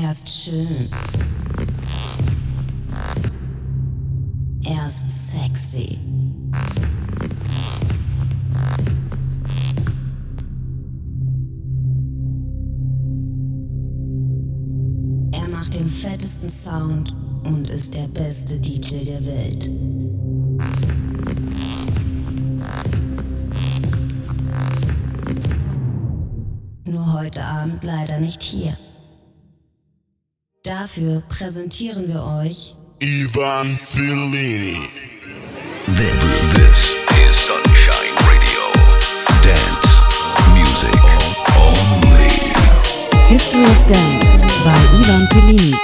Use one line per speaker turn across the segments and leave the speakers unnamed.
Er ist schön. Er ist sexy. Er macht den fettesten Sound und ist der beste DJ der Welt. Nur heute Abend leider nicht hier. Dafür präsentieren wir euch
Ivan Fellini.
This is Sunshine Radio. Dance music only.
History of Dance by Ivan Fellini.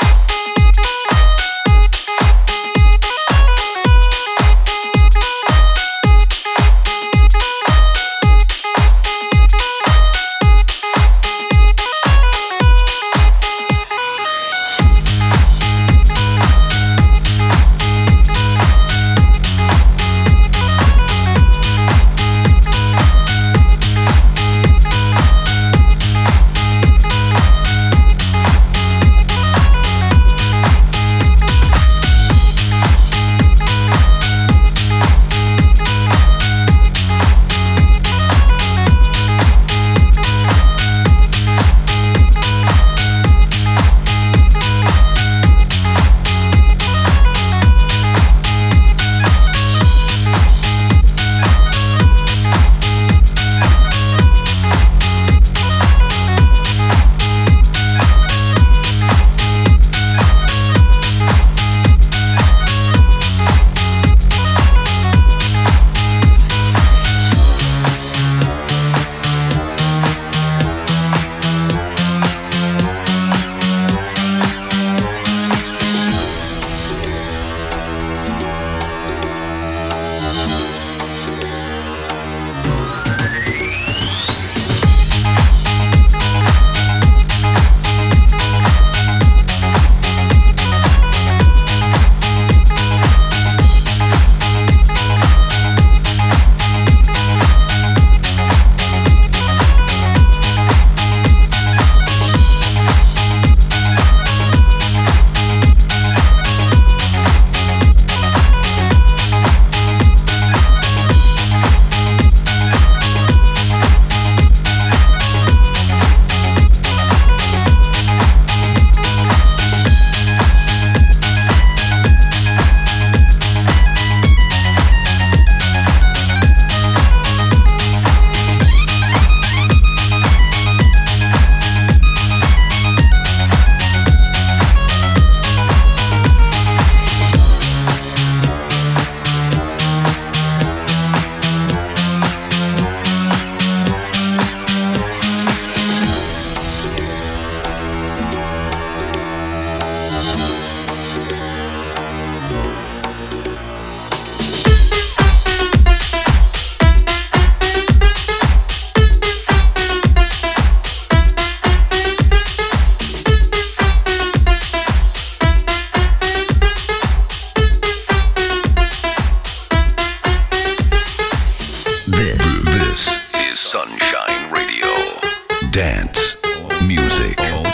Dance music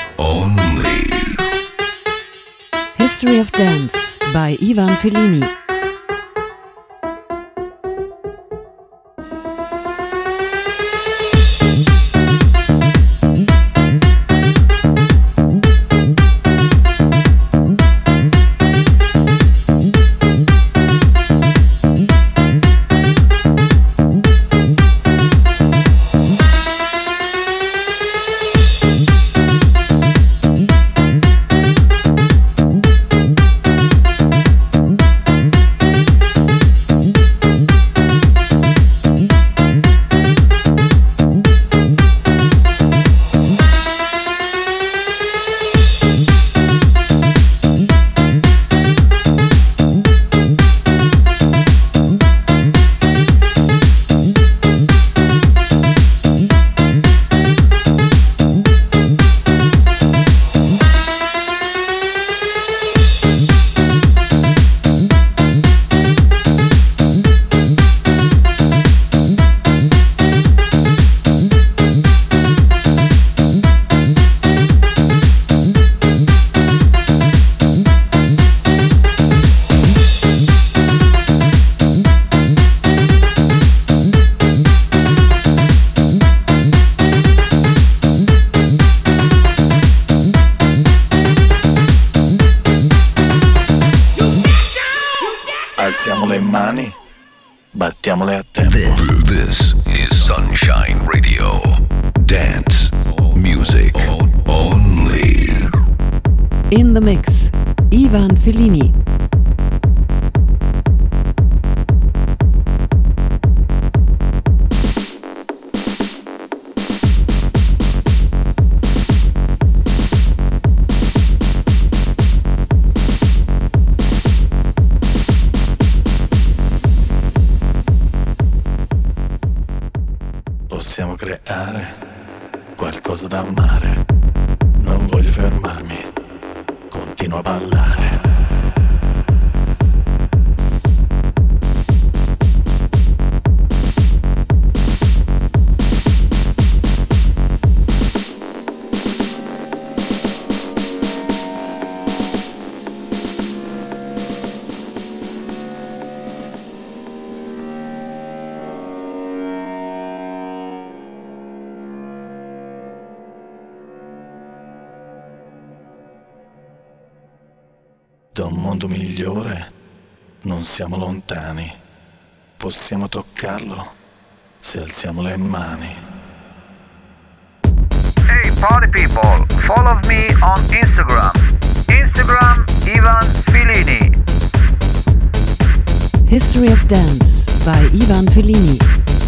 only.
History of Dance by Ivan Fellini.
battiamole a tempo.
This is Sunshine Radio. Dance music only.
In the mix, Ivan Fellini.
Possiamo creare qualcosa da amare. Non voglio fermarmi, continuo a ballare. Da un mondo migliore non siamo lontani, possiamo toccarlo se alziamo le mani.
Hey party people, follow me on Instagram. Instagram Ivan Fellini.
History of Dance by Ivan Fellini.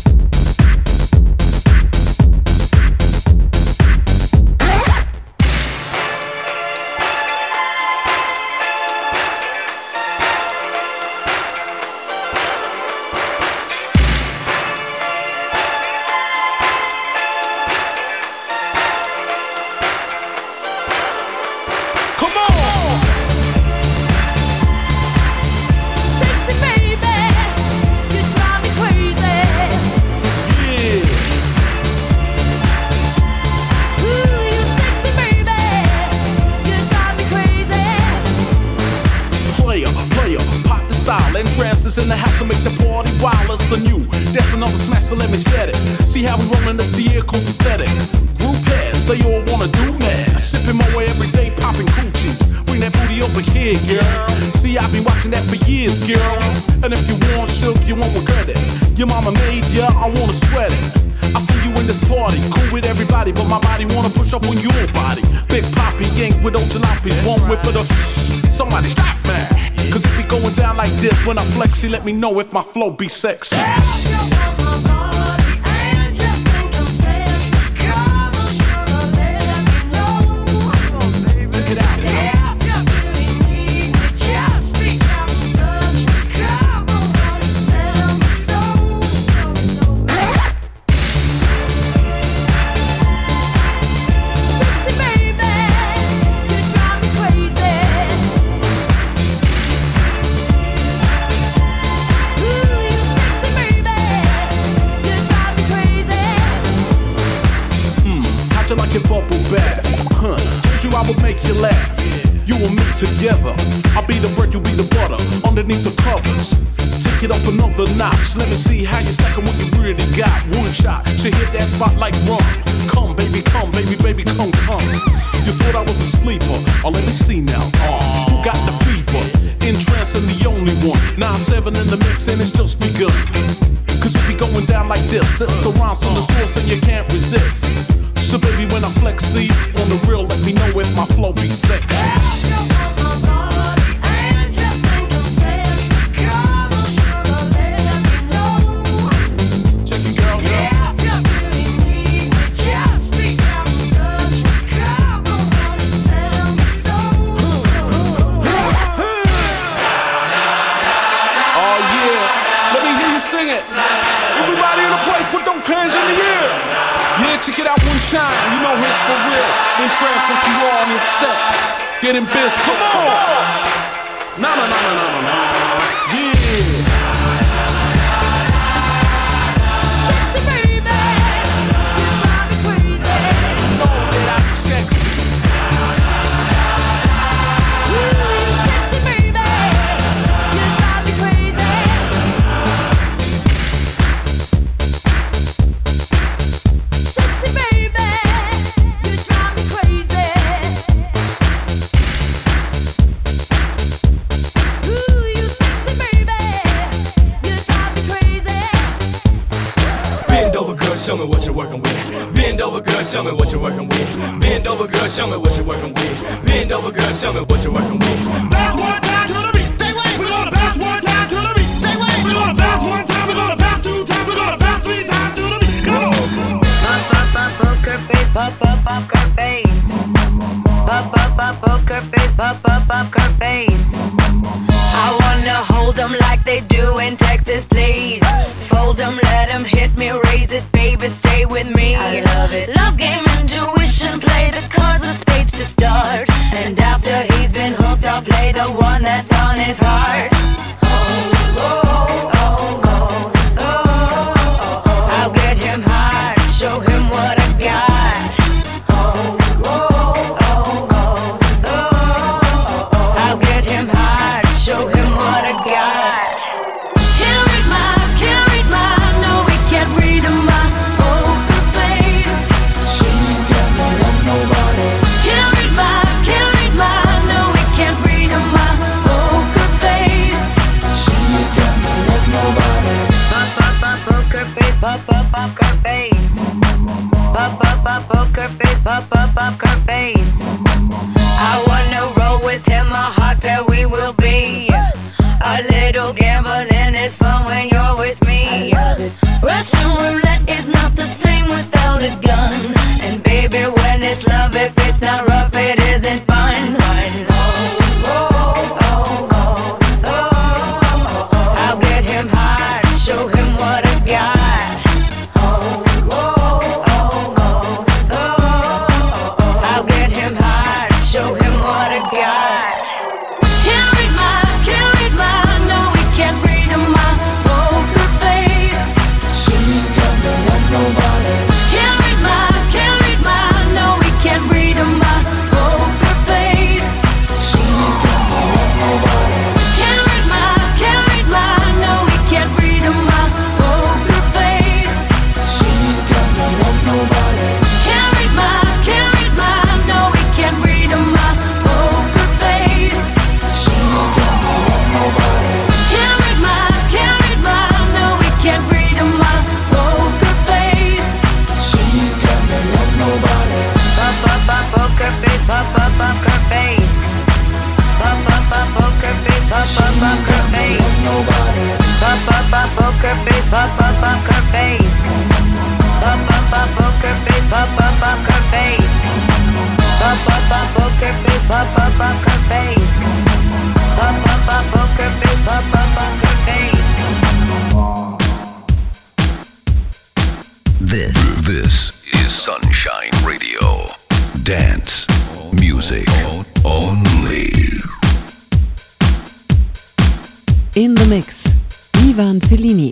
In the house to make the party wild as the new. That's another smash, so let me set it. See how we rollin' this year, cool aesthetic. Group heads, they all wanna do mad. Sipping my way every day, popping coochies. Bring that booty over here, girl. See, I've been watching that for years, girl. And if you want shook, you won't regret it. Your mama made ya, I wanna sweat it. I see you in this party, cool with everybody, but my body wanna push up on your body. Big Poppy, yank with old jalopies, one whip for the. Somebody stop me. Cause it be going down like this when I flex, he let me know if my flow be sexy. Together, I'll be the bread, you be the butter. Underneath the covers, take it up another notch. Let me see how you stackin' what you really got. One shot, she hit that spot like rum. Come, baby, baby, come, come. You thought I was a sleeper? Oh, let me see now. Who got the fever? Entrancing the only one. 9-7 in the mix and it's just begun. Cause it be going down like this. It's the rhymes from the source and you can't resist. So baby, when I flex, see, on the real, let me know if my flow be sexy. Check it out one time, you know it's for real. Then transfer you all on this set. Getting biz, come on. No. Yeah. Sexy baby, you drive me crazy. You know that I'm sexy. Sexy baby, you drive me crazy. Sexy baby, you drive me crazy. Ooh, you sexy baby.
show me what you're working with. Bend over, girl, show me what you're working with. Bend over, girl, show me what you're working with. Bend over, girl, show me what you're working with. Bounce one time to the beat, they wait. We're gonna bounce one time to the beat, they wait. We're gonna bounce one time, we're gonna bounce two times, we're gonna bounce three times to the beat. Come on.
Poker face, poker face. Poker face, poker face. I wanna hold them like they do in Texas, please. Fold them, let them hit me, raise it, baby, stay with me. I love it. Love game, intuition, play the cards with spades to start. And after he's been hooked, I'll play the one that's on his heart. Oh, oh, oh, oh, oh, oh, oh. I'll get him high, show him what I got. Oh, oh, oh, oh, oh, oh, oh. I'll get him high, show him what I got. Can't read my, no, we can't read my poker face. She's got no love, nobody. Can't read my, no, we can't read my poker face. She's got no love, nobody. Poker face, poker face. Poker face, poker face. I wanna roll with him, a hot pair we will be. A little gambling is fun when you're with me. Russian roulette is not the same without a gun. And baby, when it's love, if it's not rough, it isn't fun. Oh, oh, oh, oh, oh, oh, oh. I'll get him high, show him what I got. Oh, oh, oh, oh, oh, oh, oh. I'll get him high, show him what I got. Can't read my, no, we can't read my poker face. She's got no love, nobody. Can't read my, no, we can't read my poker face. She's got no love, nobody. Can't read my, no, we can't read my poker face. She's got no love, nobody. Can't read my, no, we can't read my poker face. She's got no love, nobody. Can't read my, no, we can't read my poker face. She's got no love, nobody. Poker face, poker face. Poker face, poker face. Nobody. Poker face, poker face. Poker face, poker face. Poker face, poker face. Poker face, poker face.
This is Sunshine Radio. Dance music only.
In the mix, Ivan Fellini.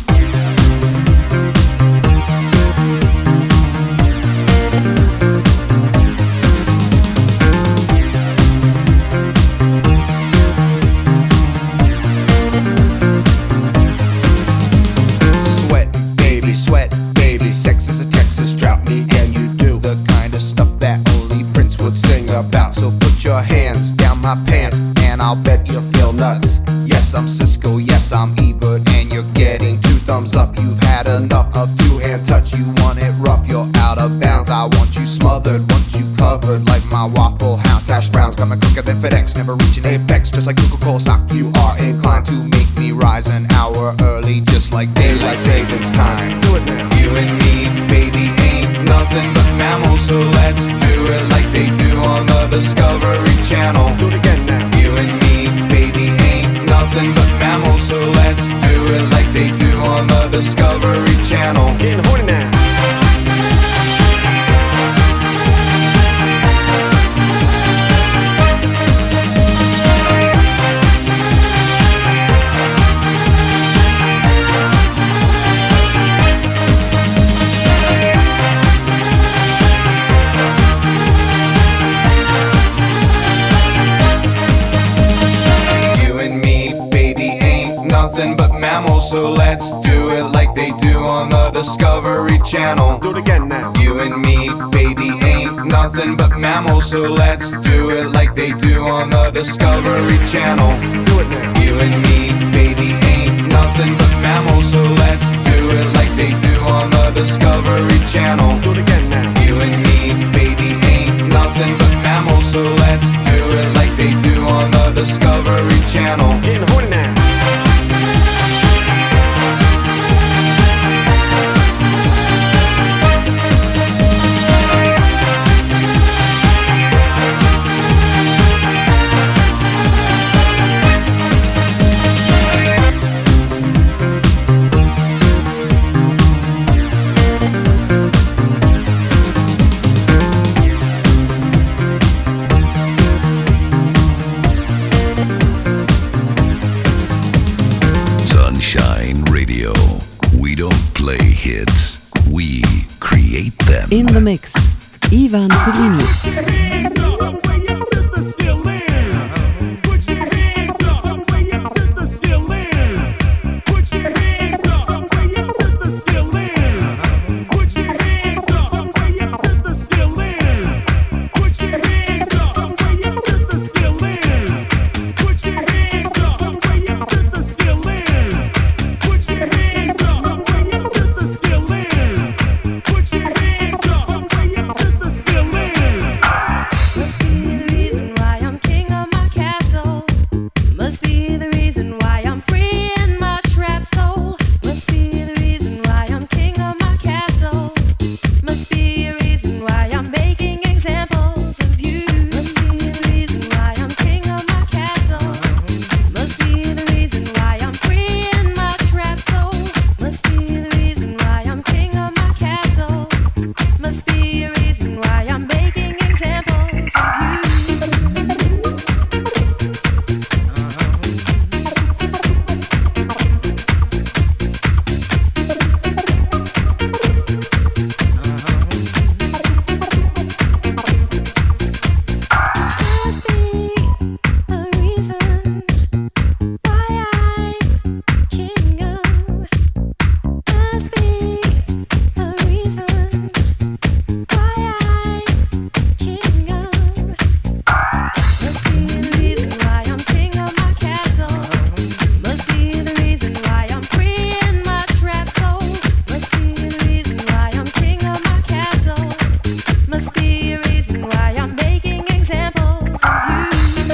Sweat, baby, sex is a Texas drought. Me and you do the kind of stuff that only Prince would sing about. So put your hands down my pants and I'll bet you'll feel nuts. Yes, I'm Cisco, yes, I'm Ebert, and you're getting 2 thumbs up. You've had enough of 2-hand touch. You want it rough, you're out of bounds. I want you smothered, want you covered like my Waffle House hash browns. Coming quicker than FedEx, never reaching apex. Just like Coca-Cola stock, you are inclined to make me rise an hour early, just like daylight savings time. Do it now. You and me, baby, ain't nothing but mammals, so let's do it like they do on the Discovery Channel. Do it again now. You and me, baby, ain't nothing but mammals, so let's do it like they do on the Discovery Channel. Getting horny now. So let's do it like they do on the Discovery Channel. Do it again now. You and me, baby, ain't nothing but mammals, so let's do it like they do on the Discovery Channel. Do it now. You and me, baby, ain't nothing but mammals, so let's do it like they do on the Discovery
don't play hits, we create them.
In the mix, Ivan Fellini.
Put your hands up, way up to the ceiling. Put your hands up, way up to the ceiling. Put your hands up, way up to the ceiling. Put your hands up, way up to the ceiling. Put your hands up, way up to the ceiling. Put your hands up, way up to the ceiling. Put your hands up, way up to the ceiling. Put your hands up, way up to the ceiling.
Must be the reason why I'm king of my castle. Must be the reason why I'm free in my trapped soul. Must be the reason why I'm king of my castle. Must be a reason why I'm making examples of you. Must be the reason why I'm king of my castle. Must be the reason why I'm free in my trapped soul. Must be the reason why I'm king of my castle. Must be a reason why I'm making examples of you. Must be a reason why I'm king of. Must be a reason why I'm king of. Must be the reason why I'm king of my castle. Must be the reason why I'm free in my trapped soul. Must be the reason why I'm king of my castle. Must be a reason why I'm making examples of you.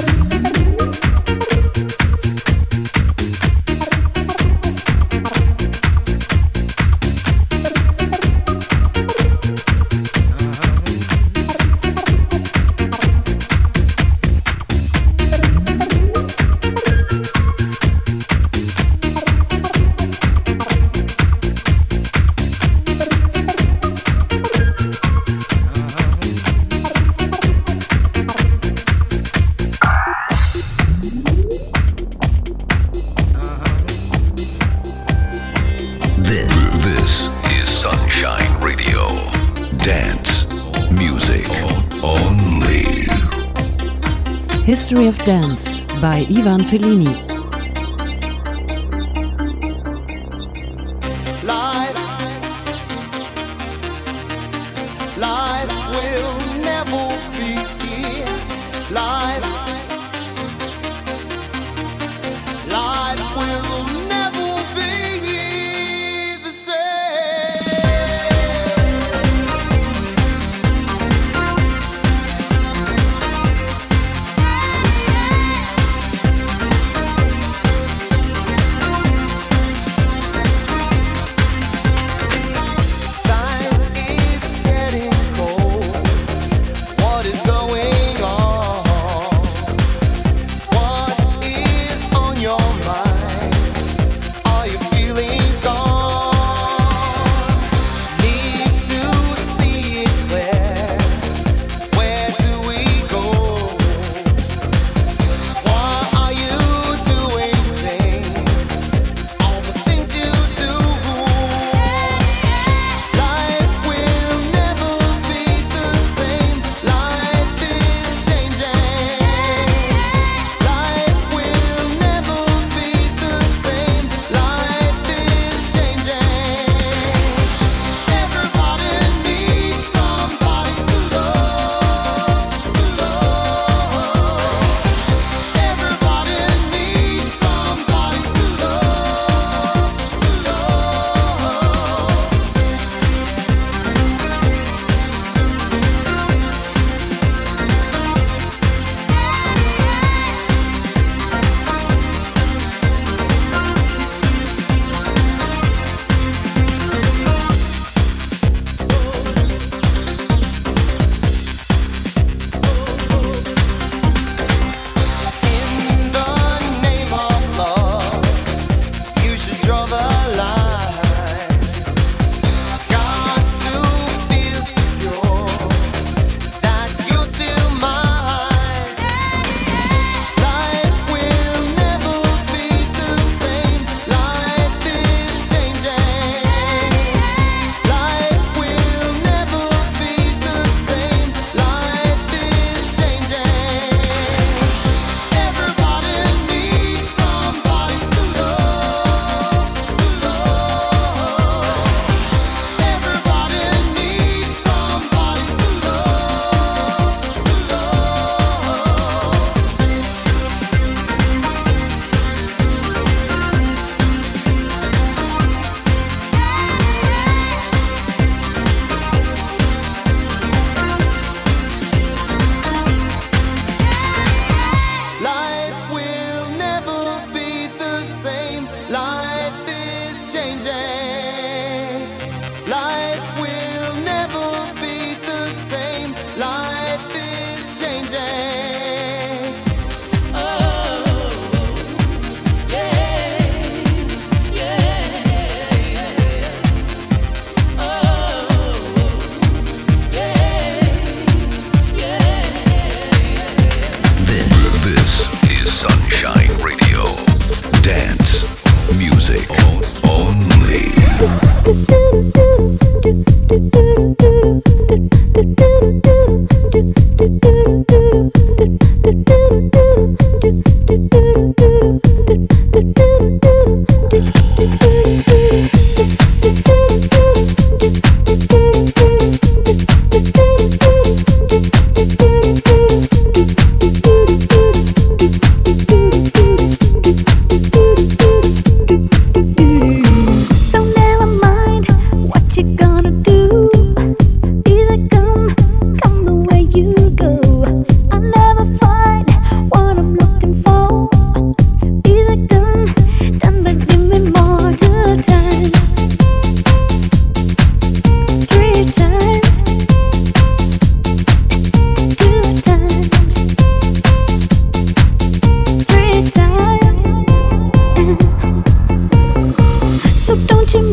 This is Sunshine Radio. Dance music only.
History of Dance by Ivan Fellini.
Life will never be here. Life will never be the same.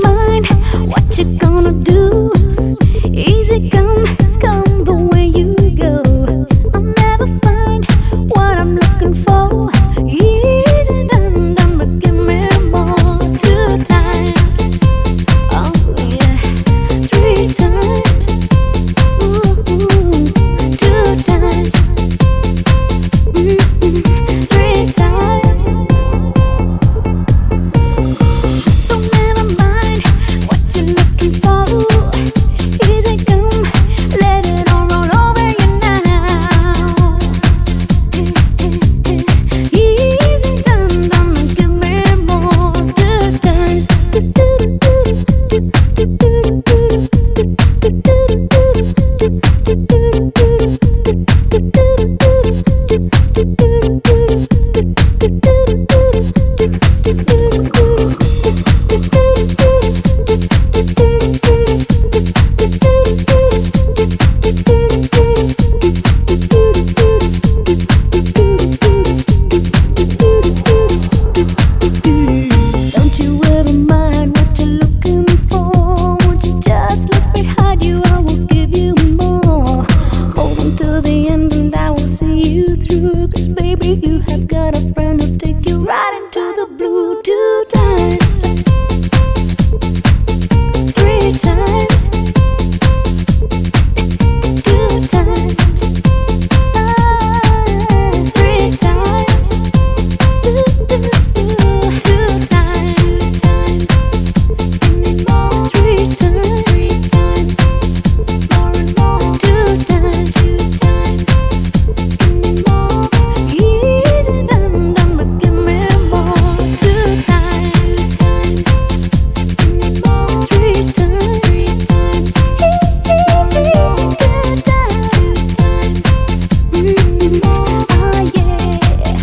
find what you gonna do. Easy come, come the way you go. I'll never find what I'm looking for. Easy done, done, but give me more. 2 times, oh yeah, 3 times, ooh, 2 times, 3 times. So never mind what you're looking for. Easy come, let it all roll over you now. Easy done, done, give me more. 2 times. Don't you ever mind what you're looking for. Won't you just look behind you? I will give you more. Hold on to the end and I will see you through. 'Cause baby, you have got a friend who'll take you right into the blue. 2 times, 3 times, 2 times, 3 times, 2 times, 3 times, more and more. 2 times, more. Easy done, done, but give me more. 2 times, more. 3 times, 2 times, more. Oh yeah.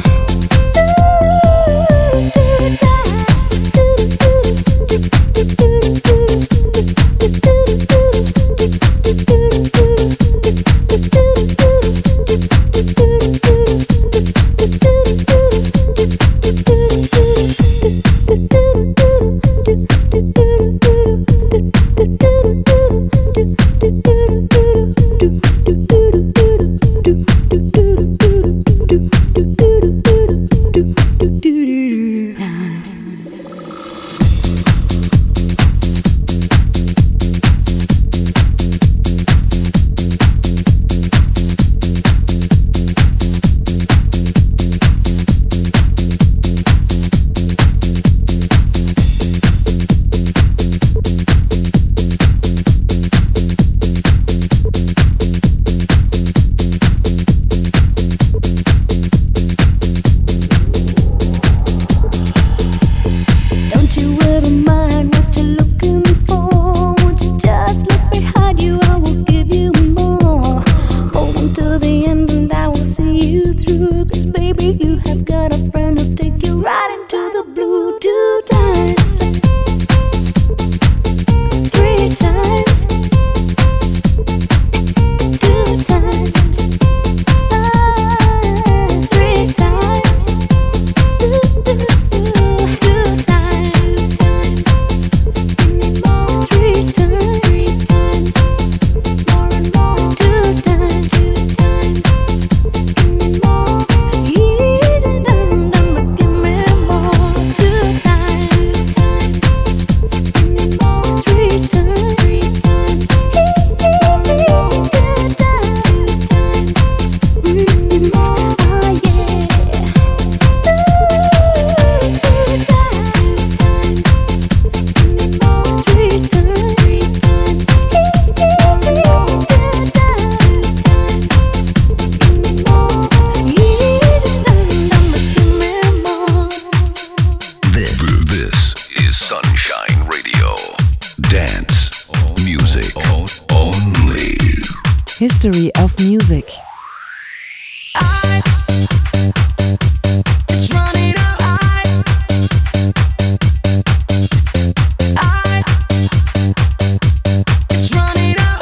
'Cause baby, you have got a friend who'll take you right into the blue. 2 times, 3 times, 2 times, 3 times, 2 times, 3 times, more and more. 2 times, more. Easy done, done, but give me more. 2 times, more. 3 times, 2 times, more. Oh yeah. 2 times, more. 3 times,
This is Sunshine Radio. Dance music only.
History of music.
It's running out. It's running out.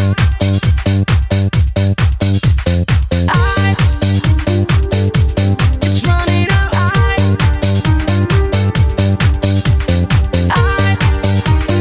It's running out.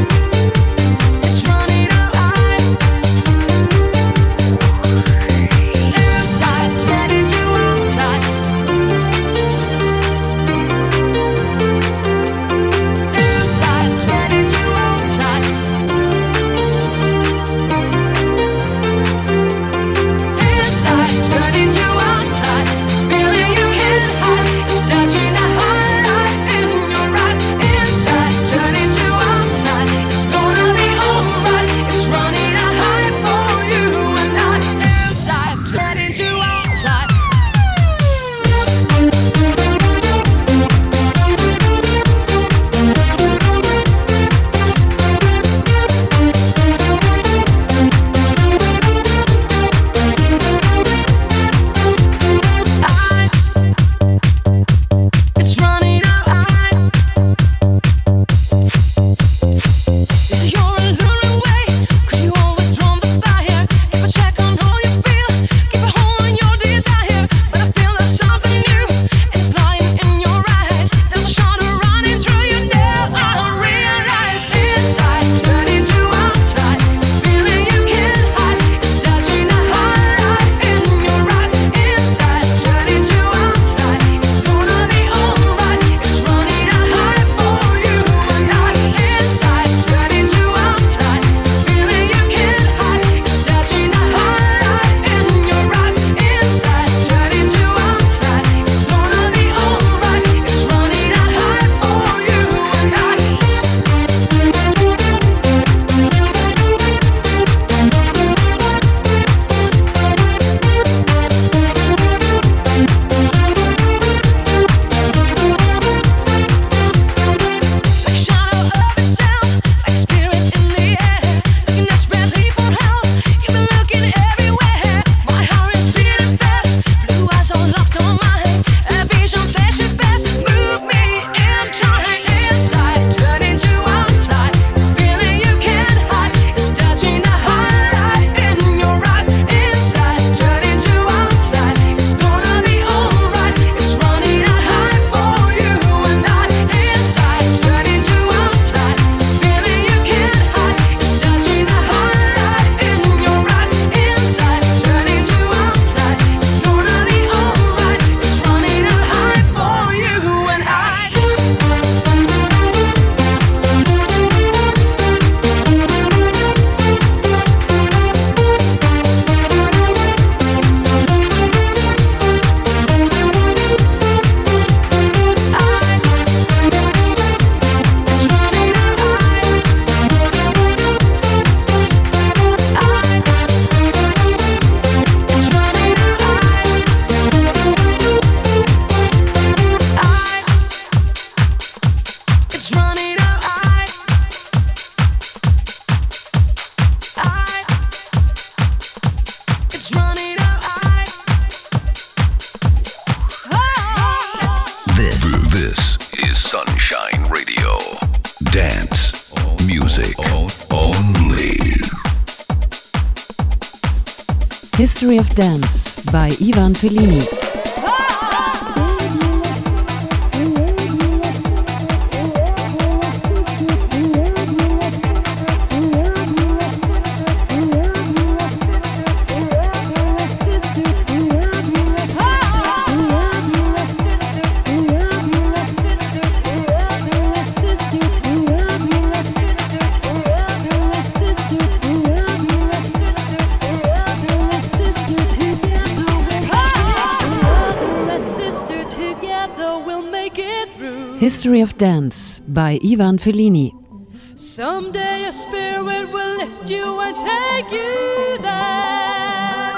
Sunshine Radio. Dance music only.
History of Dance by Ivan Fellini. History of Dance by Ivan Fellini.
Someday a spirit will lift you and take you there.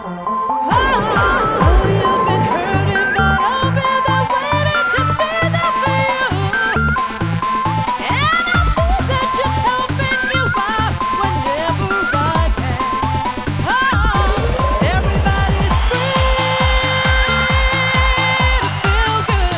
Oh, you've been hurting, but I'll be there waiting to be there for you. And I'll be there just helping you out whenever I can. Oh, everybody's free to feel good.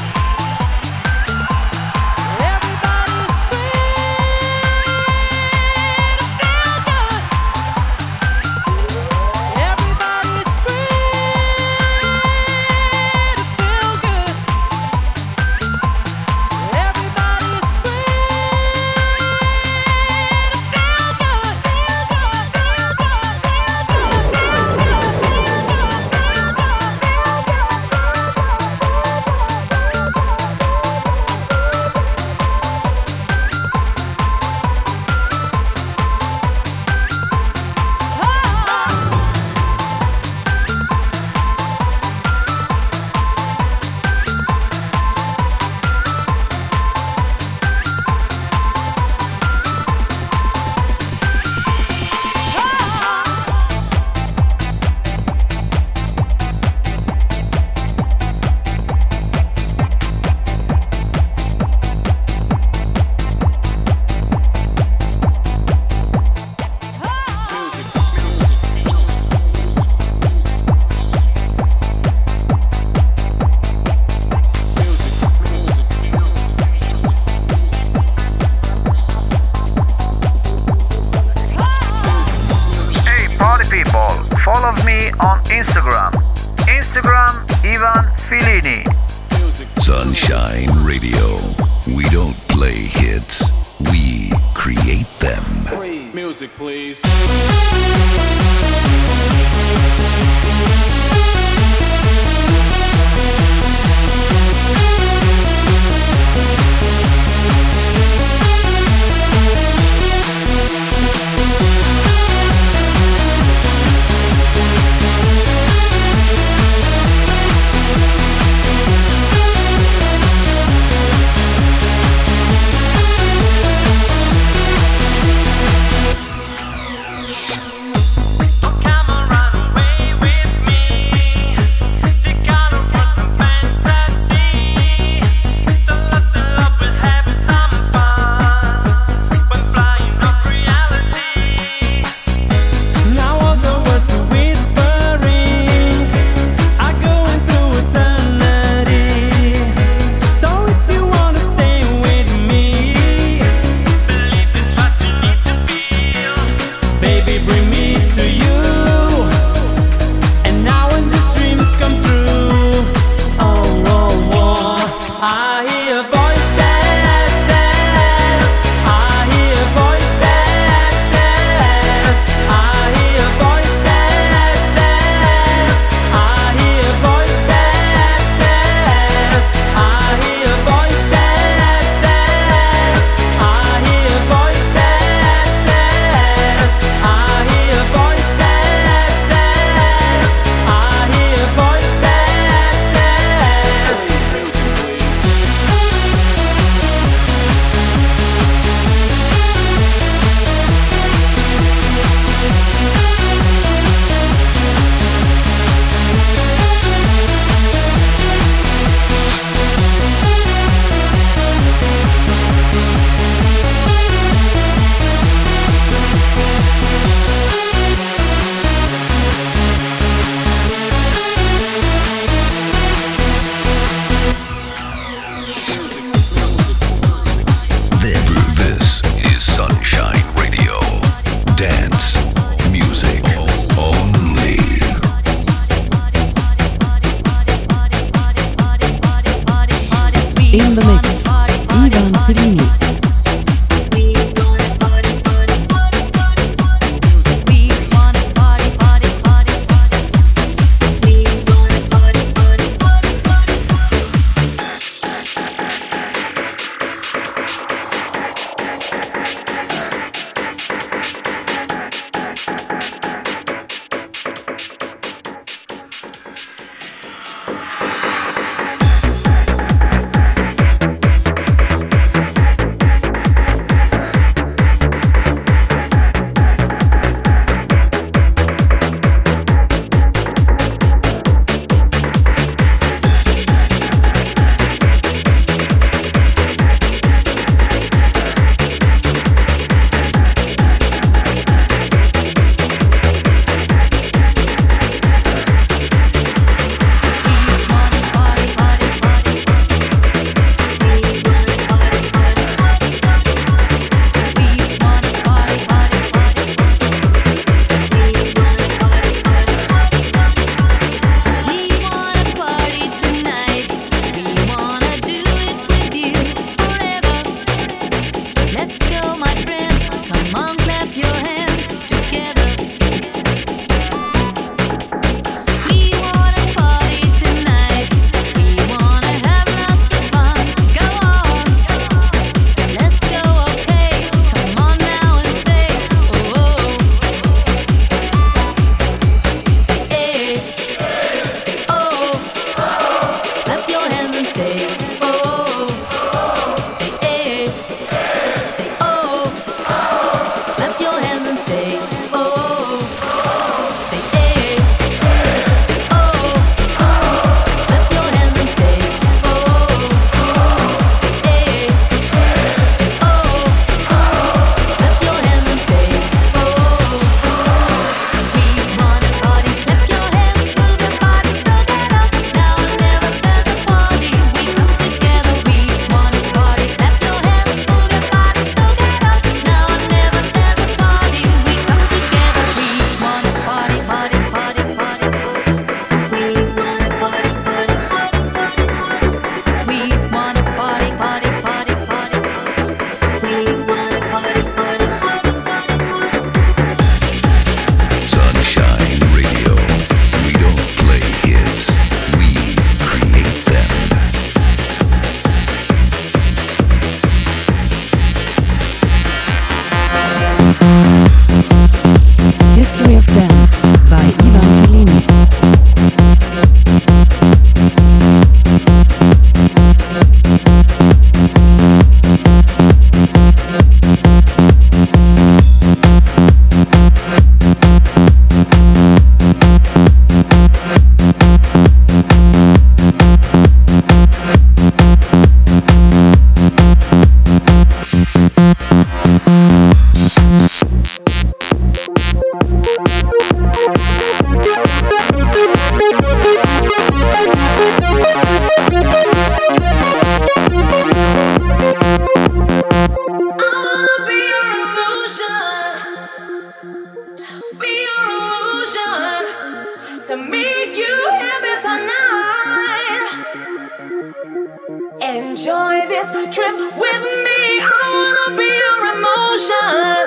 Follow me on Instagram. Instagram Ivan Fellini.
Sunshine Radio. We don't play hits, we create them.
Music, please.
Come on, run away with
on the mix, Ivan Fellini. History of Dance by Ivan Fellini.
Enjoy this trip with me. I wanna be your emotion.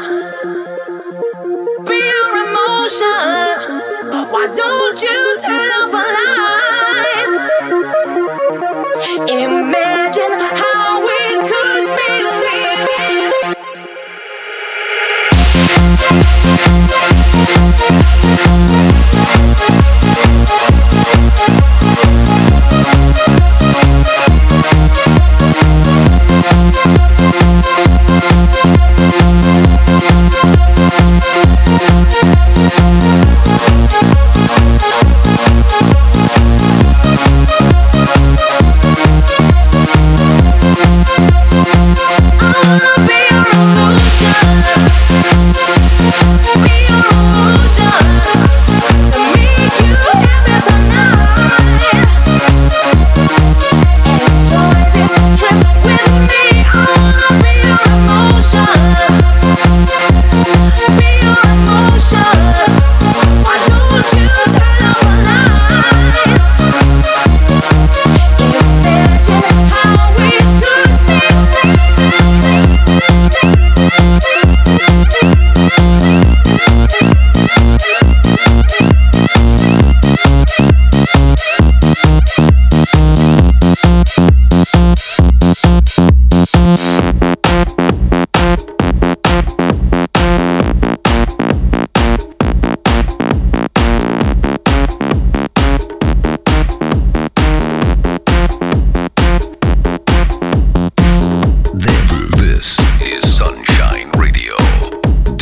Be your emotion. Why don't you turn off the lights? Imagine how we could be living.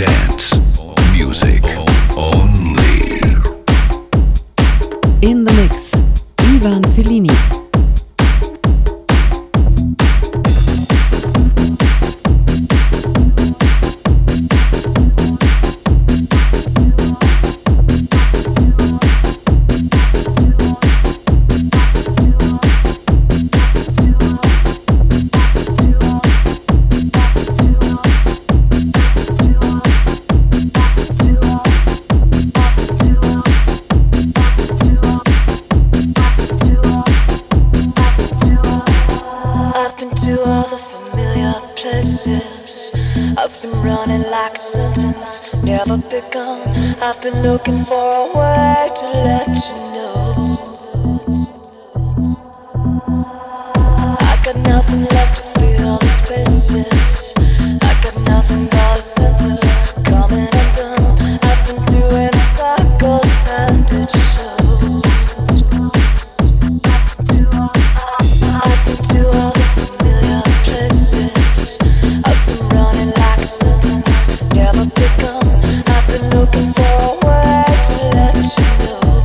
Dance music only.
In the mix, Ivan Fellini.
I've been looking for a way to let you know I got nothing left to fill the spaces. I got nothing but a center coming undone. I've been doing circles and it shows. I've been to all the familiar places. I've been running like a sentence never begun. I've been looking for a way to let you know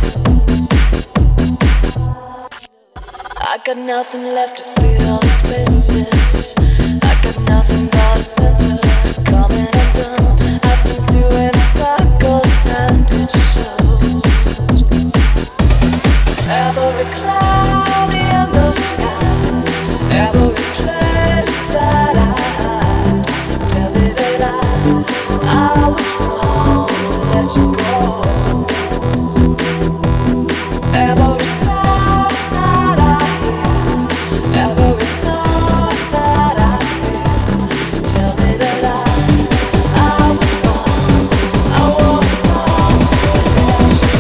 I got nothing left to fill the spaces. I got nothing but a center coming undone. I've been doing circles and it shows. Every cloud in the sky, every place that I hide, tell me that I was wrong to let you go. Every sound that I hear, every thought that I feel, tell me that I was wrong. I was wrong to let you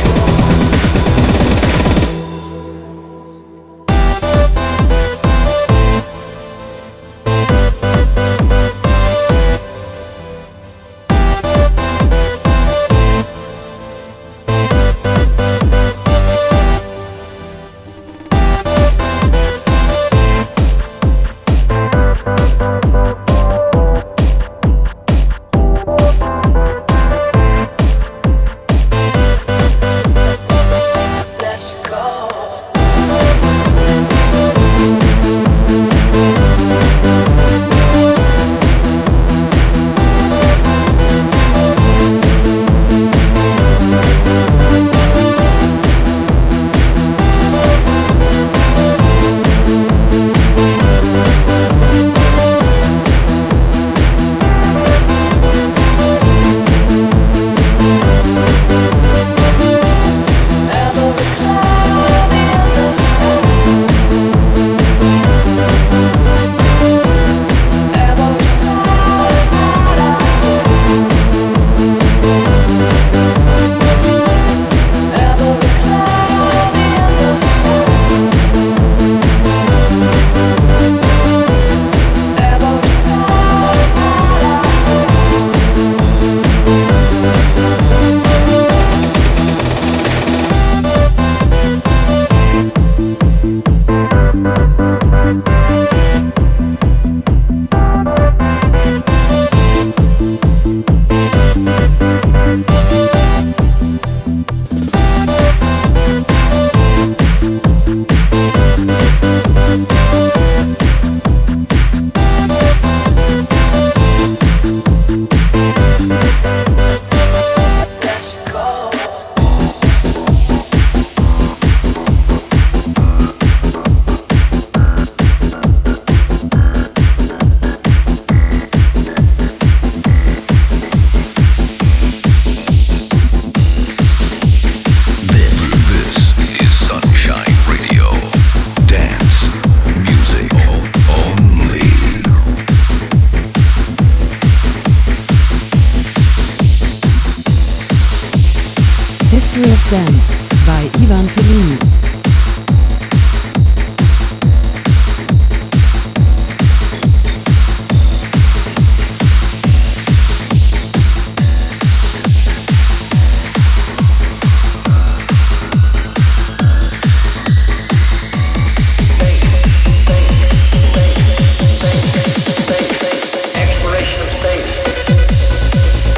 History of Dance by Ivan Fellini.
Exploration of space.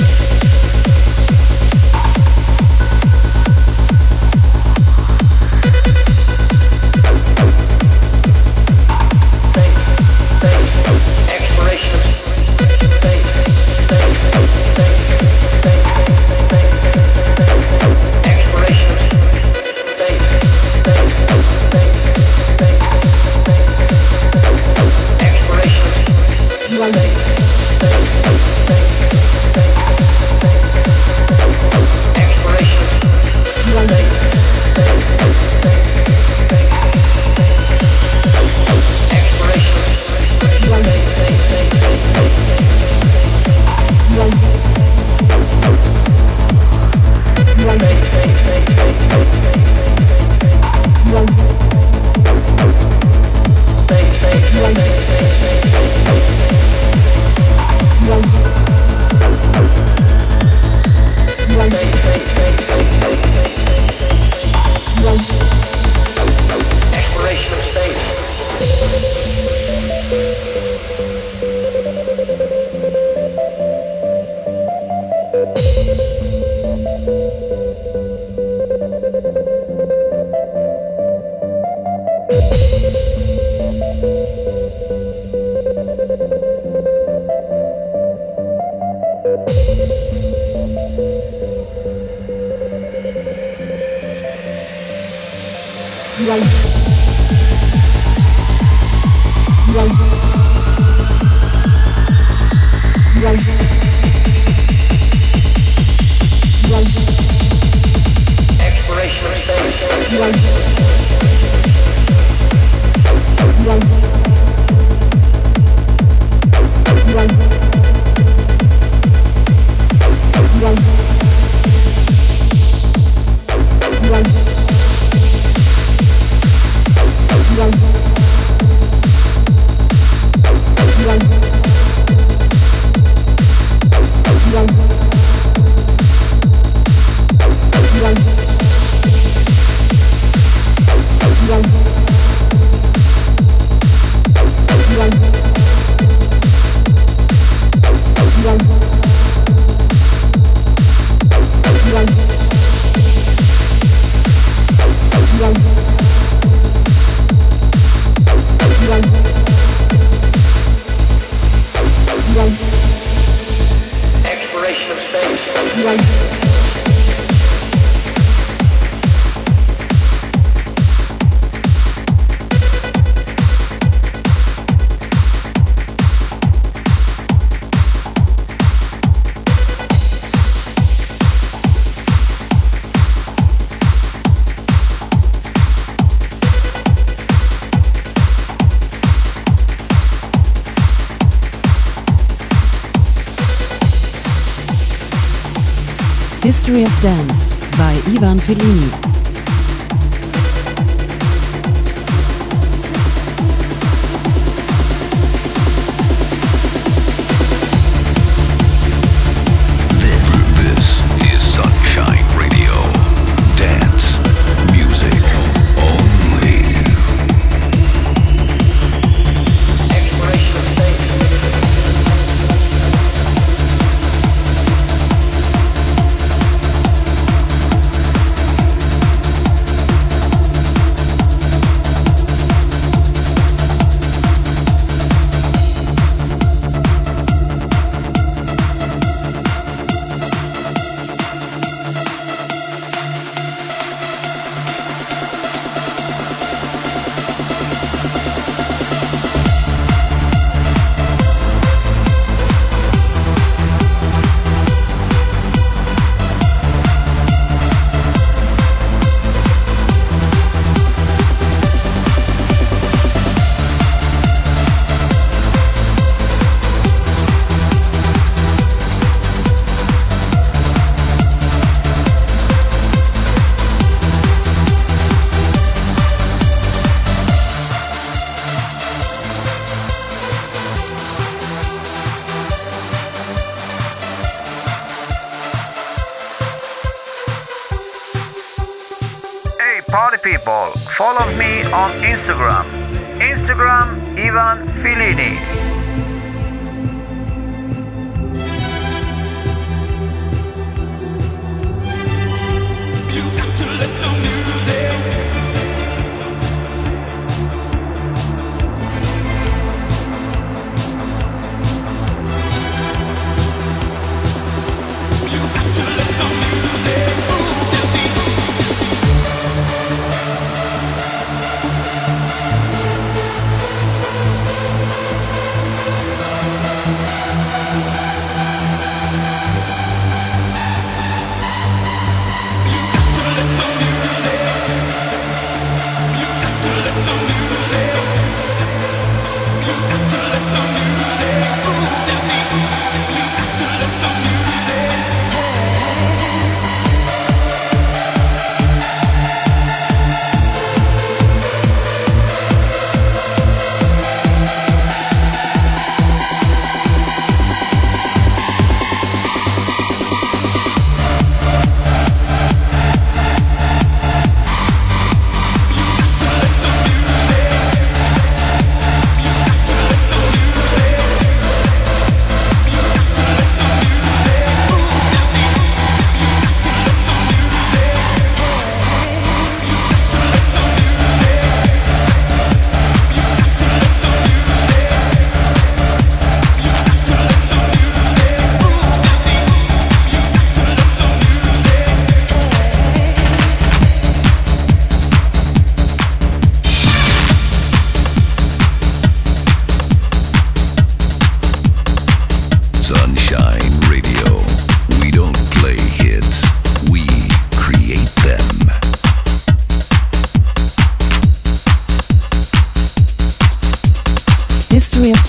History of Dance by Ivan Fellini.
This is Sunshine Radio. Dance music only.
Party people, follow me on Instagram. Instagram Ivan Fellini.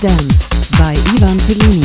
Dance by Ivan Fellini.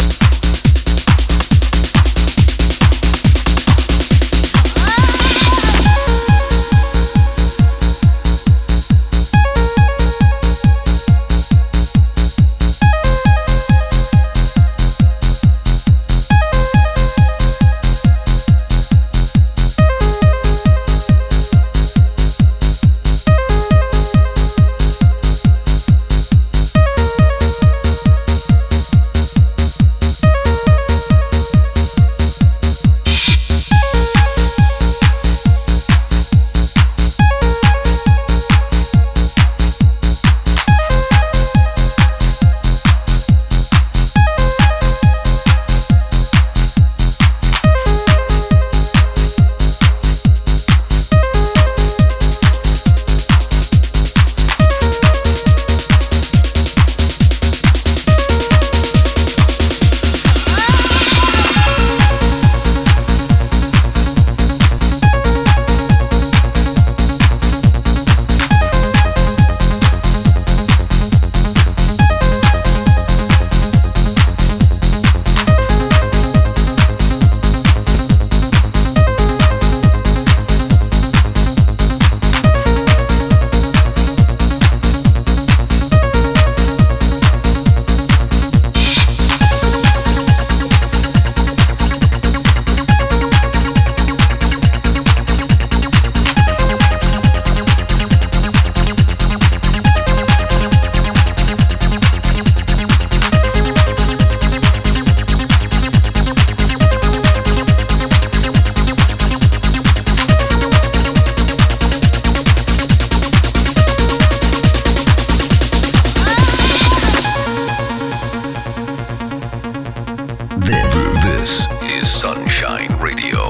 This is Sunshine Radio.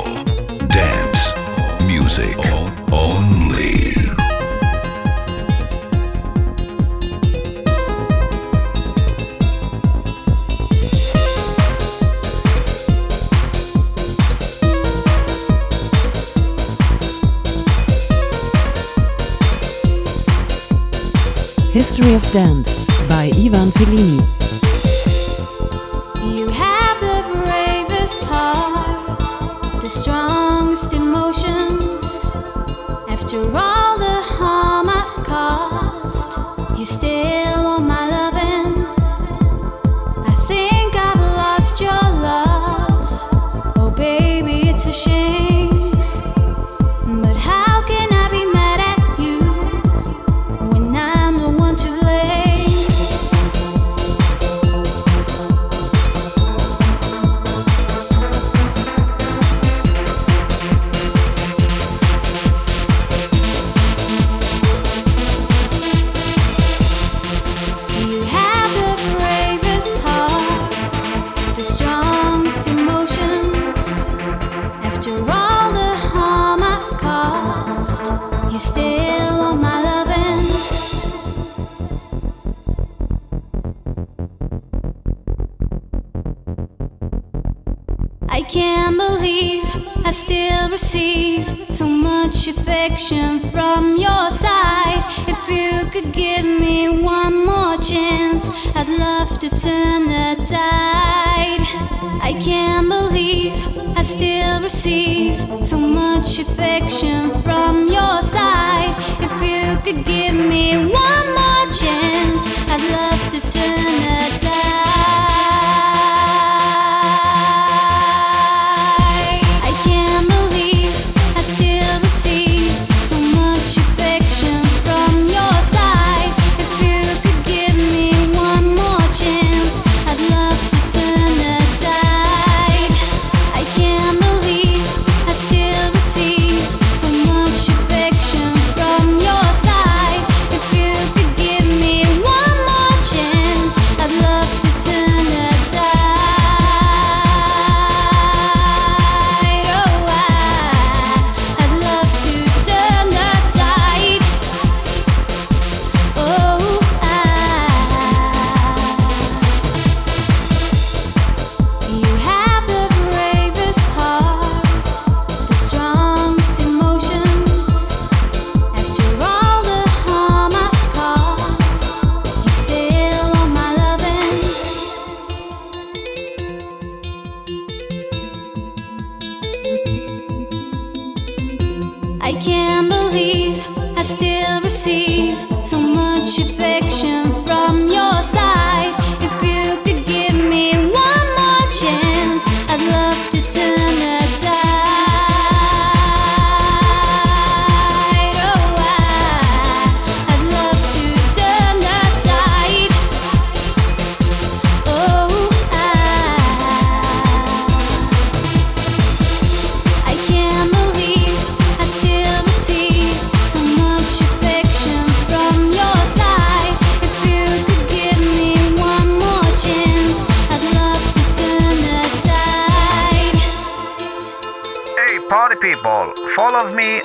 Dance music only.
History of Dance by Ivan Fellini.
You have the bravest heart, the strongest emotions. After all the harm I've caused, you still want my loving. I think I've lost your love. Oh baby, it's a shame. But how can I be mad at you when I'm the one to blame? You have the bravest heart, the strongest emotions. After all the harm I've caused, you still want my loving. I can't believe I still receive so much affection from your side. If you could give me one more chance, I'd love to turn the tide. I can't believe I still receive so much affection from your side. If you could give me one more chance, I'd love to turn the tide. I can't believe I still receive so much affection from your side. If you could give me one more chance, I'd love to turn the tide. I can't believe I still receive so much affection from your side. If you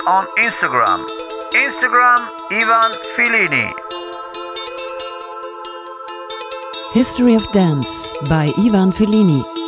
on Instagram. Instagram Ivan Filini.
History of Dance by Ivan Fellini.